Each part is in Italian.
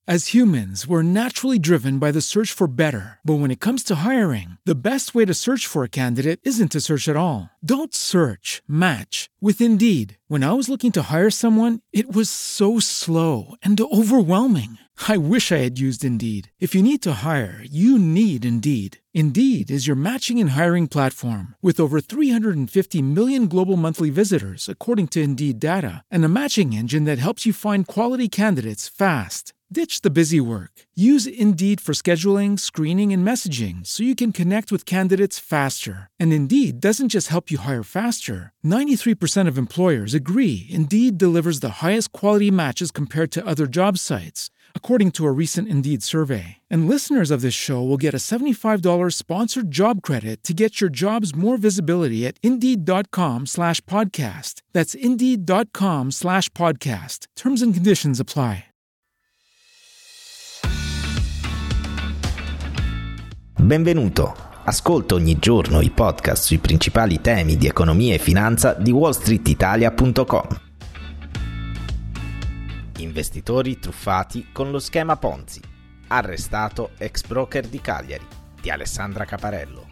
As humans, we're naturally driven by the search for better. But when it comes to hiring, the best way to search for a candidate isn't to search at all. Don't search, match with Indeed. When I was looking to hire someone, it was so slow and overwhelming. I wish I had used Indeed. If you need to hire, you need Indeed. Indeed is your matching and hiring platform with over 350 million global monthly visitors, according to Indeed data, and a matching engine that helps you find quality candidates fast. Ditch the busy work. Use Indeed for scheduling, screening, and messaging so you can connect with candidates faster. And Indeed doesn't just help you hire faster. 93% of employers agree Indeed delivers the highest quality matches compared to other job sites, according to a recent Indeed survey. And listeners of this show will get a $75 sponsored job credit to get your jobs more visibility at Indeed.com/podcast. That's Indeed.com/podcast. Terms and conditions apply. Benvenuto, ascolta ogni giorno i podcast sui principali temi di economia e finanza di wallstreetitalia.com. Investitori truffati con lo schema Ponzi. Arrestato ex broker di Cagliari, di Alessandra Caparello.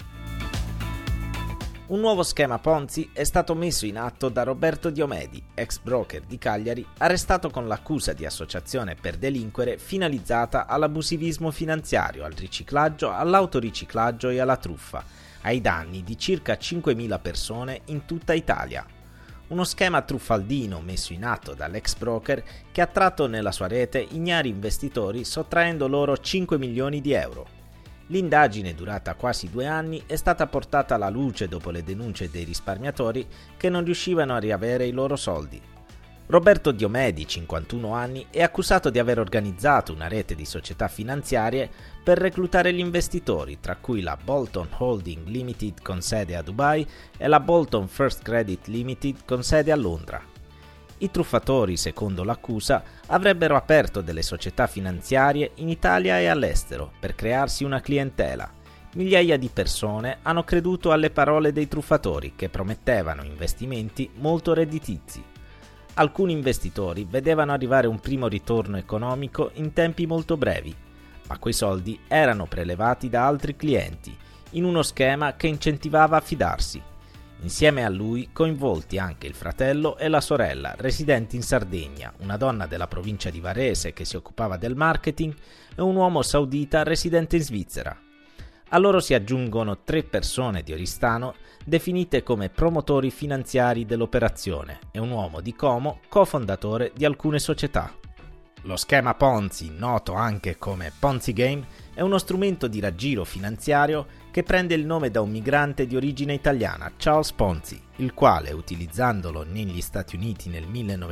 Un nuovo schema Ponzi è stato messo in atto da Roberto Diomedi, ex broker di Cagliari, arrestato con l'accusa di associazione per delinquere finalizzata all'abusivismo finanziario, al riciclaggio, all'autoriciclaggio e alla truffa, ai danni di circa 5.000 persone in tutta Italia. Uno schema truffaldino messo in atto dall'ex broker che ha attratto nella sua rete ignari investitori sottraendo loro 5 milioni di euro. L'indagine, durata quasi 2 anni, è stata portata alla luce dopo le denunce dei risparmiatori che non riuscivano a riavere i loro soldi. Roberto Diomedi, 51 anni, è accusato di aver organizzato una rete di società finanziarie per reclutare gli investitori, tra cui la Bolton Holding Limited con sede a Dubai e la Bolton First Credit Limited con sede a Londra. I truffatori, secondo l'accusa, avrebbero aperto delle società finanziarie in Italia e all'estero per crearsi una clientela. Migliaia di persone hanno creduto alle parole dei truffatori che promettevano investimenti molto redditizi. Alcuni investitori vedevano arrivare un primo ritorno economico in tempi molto brevi, ma quei soldi erano prelevati da altri clienti, in uno schema che incentivava a fidarsi. Insieme a lui coinvolti anche il fratello e la sorella, residenti in Sardegna, una donna della provincia di Varese che si occupava del marketing e un uomo saudita residente in Svizzera. A loro si aggiungono 3 persone di Oristano definite come promotori finanziari dell'operazione e un uomo di Como, cofondatore di alcune società. Lo schema Ponzi, noto anche come Ponzi Game, è uno strumento di raggiro finanziario che prende il nome da un migrante di origine italiana, Charles Ponzi, il quale, utilizzandolo negli Stati Uniti nel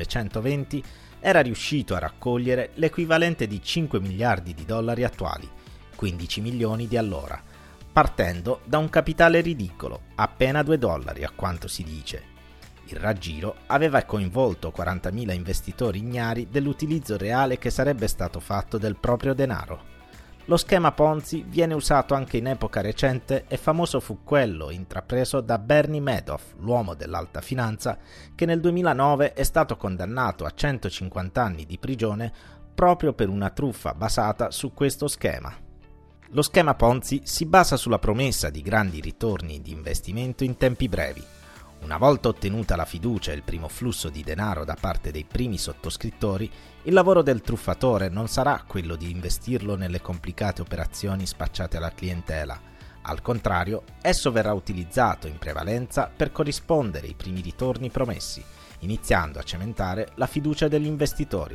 1920, era riuscito a raccogliere l'equivalente di 5 miliardi di dollari attuali, 15 milioni di allora, partendo da un capitale ridicolo, appena $2 a quanto si dice. Il raggiro aveva coinvolto 40.000 investitori ignari dell'utilizzo reale che sarebbe stato fatto del proprio denaro. Lo schema Ponzi viene usato anche in epoca recente e famoso fu quello intrapreso da Bernie Madoff, l'uomo dell'alta finanza, che nel 2009 è stato condannato a 150 anni di prigione proprio per una truffa basata su questo schema. Lo schema Ponzi si basa sulla promessa di grandi ritorni di investimento in tempi brevi. Una volta ottenuta la fiducia e il primo flusso di denaro da parte dei primi sottoscrittori, il lavoro del truffatore non sarà quello di investirlo nelle complicate operazioni spacciate alla clientela. Al contrario, esso verrà utilizzato in prevalenza per corrispondere ai primi ritorni promessi, iniziando a cementare la fiducia degli investitori.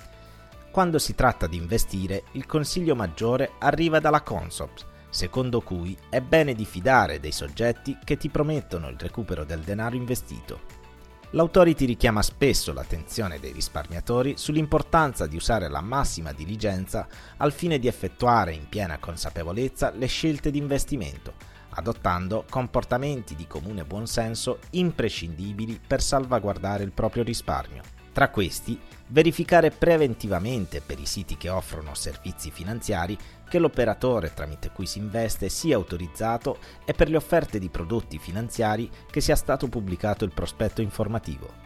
Quando si tratta di investire, il consiglio maggiore arriva dalla Consob, secondo cui è bene diffidare dei soggetti che ti promettono il recupero del denaro investito. L'Authority richiama spesso l'attenzione dei risparmiatori sull'importanza di usare la massima diligenza al fine di effettuare in piena consapevolezza le scelte di investimento, adottando comportamenti di comune buonsenso imprescindibili per salvaguardare il proprio risparmio. Tra questi, verificare preventivamente per i siti che offrono servizi finanziari che l'operatore tramite cui si investe sia autorizzato e per le offerte di prodotti finanziari che sia stato pubblicato il prospetto informativo.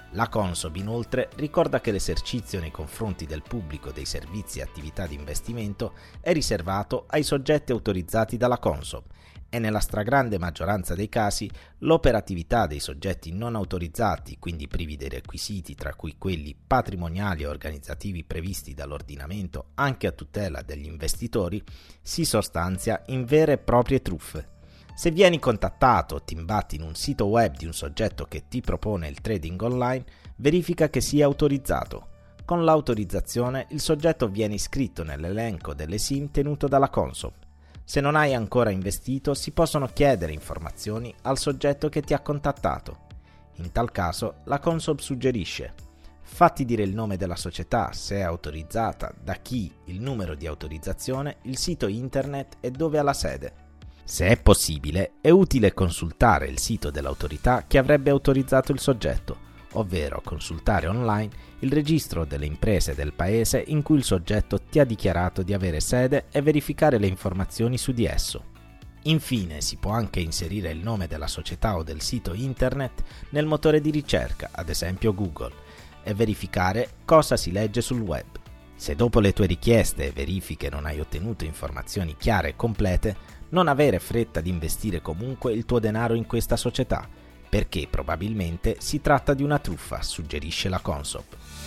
La Consob inoltre ricorda che l'esercizio nei confronti del pubblico dei servizi e attività di investimento è riservato ai soggetti autorizzati dalla Consob e nella stragrande maggioranza dei casi l'operatività dei soggetti non autorizzati, quindi privi dei requisiti tra cui quelli patrimoniali e organizzativi previsti dall'ordinamento anche a tutela degli investitori, si sostanzia in vere e proprie truffe. Se vieni contattato o ti imbatti in un sito web di un soggetto che ti propone il trading online, verifica che sia autorizzato. Con l'autorizzazione il soggetto viene iscritto nell'elenco delle SIM tenuto dalla Consob. Se non hai ancora investito, si possono chiedere informazioni al soggetto che ti ha contattato. In tal caso, la Consob suggerisce: fatti dire il nome della società, se è autorizzata, da chi, il numero di autorizzazione, il sito internet e dove ha la sede. Se è possibile, è utile consultare il sito dell'autorità che avrebbe autorizzato il soggetto, ovvero consultare online il registro delle imprese del paese in cui il soggetto ti ha dichiarato di avere sede e verificare le informazioni su di esso. Infine, si può anche inserire il nome della società o del sito internet nel motore di ricerca, ad esempio Google, e verificare cosa si legge sul web. Se dopo le tue richieste e verifiche non hai ottenuto informazioni chiare e complete, non avere fretta di investire comunque il tuo denaro in questa società, perché probabilmente si tratta di una truffa, suggerisce la Consob.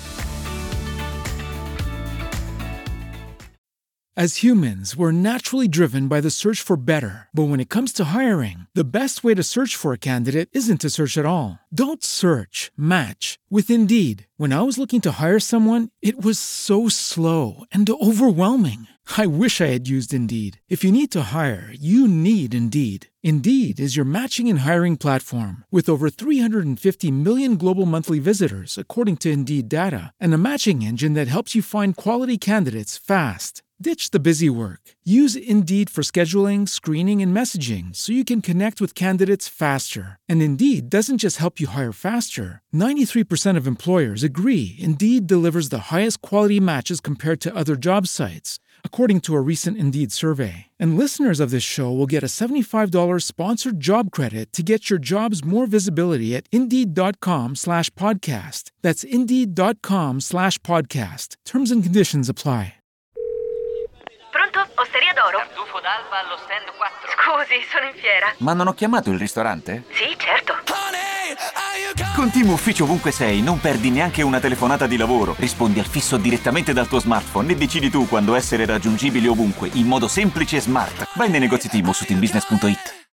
As humans, we're naturally driven by the search for better. But when it comes to hiring, the best way to search for a candidate isn't to search at all. Don't search, match with Indeed. When I was looking to hire someone, it was so slow and overwhelming. I wish I had used Indeed. If you need to hire, you need Indeed. Indeed is your matching and hiring platform with over 350 million global monthly visitors, according to Indeed data, and a matching engine that helps you find quality candidates fast. Ditch the busy work. Use Indeed for scheduling, screening, and messaging so you can connect with candidates faster. And Indeed doesn't just help you hire faster. 93% of employers agree Indeed delivers the highest quality matches compared to other job sites, according to a recent Indeed survey. And listeners of this show will get a $75 sponsored job credit to get your jobs more visibility at Indeed.com/podcast. That's Indeed.com/podcast. Terms and conditions apply. Pronto? Osteria d'Oro? Tartufo d'alba allo stand 4. Scusi, sono in fiera. Ma non ho chiamato il ristorante? Sì, certo. Con Team Ufficio ovunque sei, non perdi neanche una telefonata di lavoro. Rispondi al fisso direttamente dal tuo smartphone e decidi tu quando essere raggiungibile ovunque, in modo semplice e smart. Vai nei negozi Team su teambusiness.it.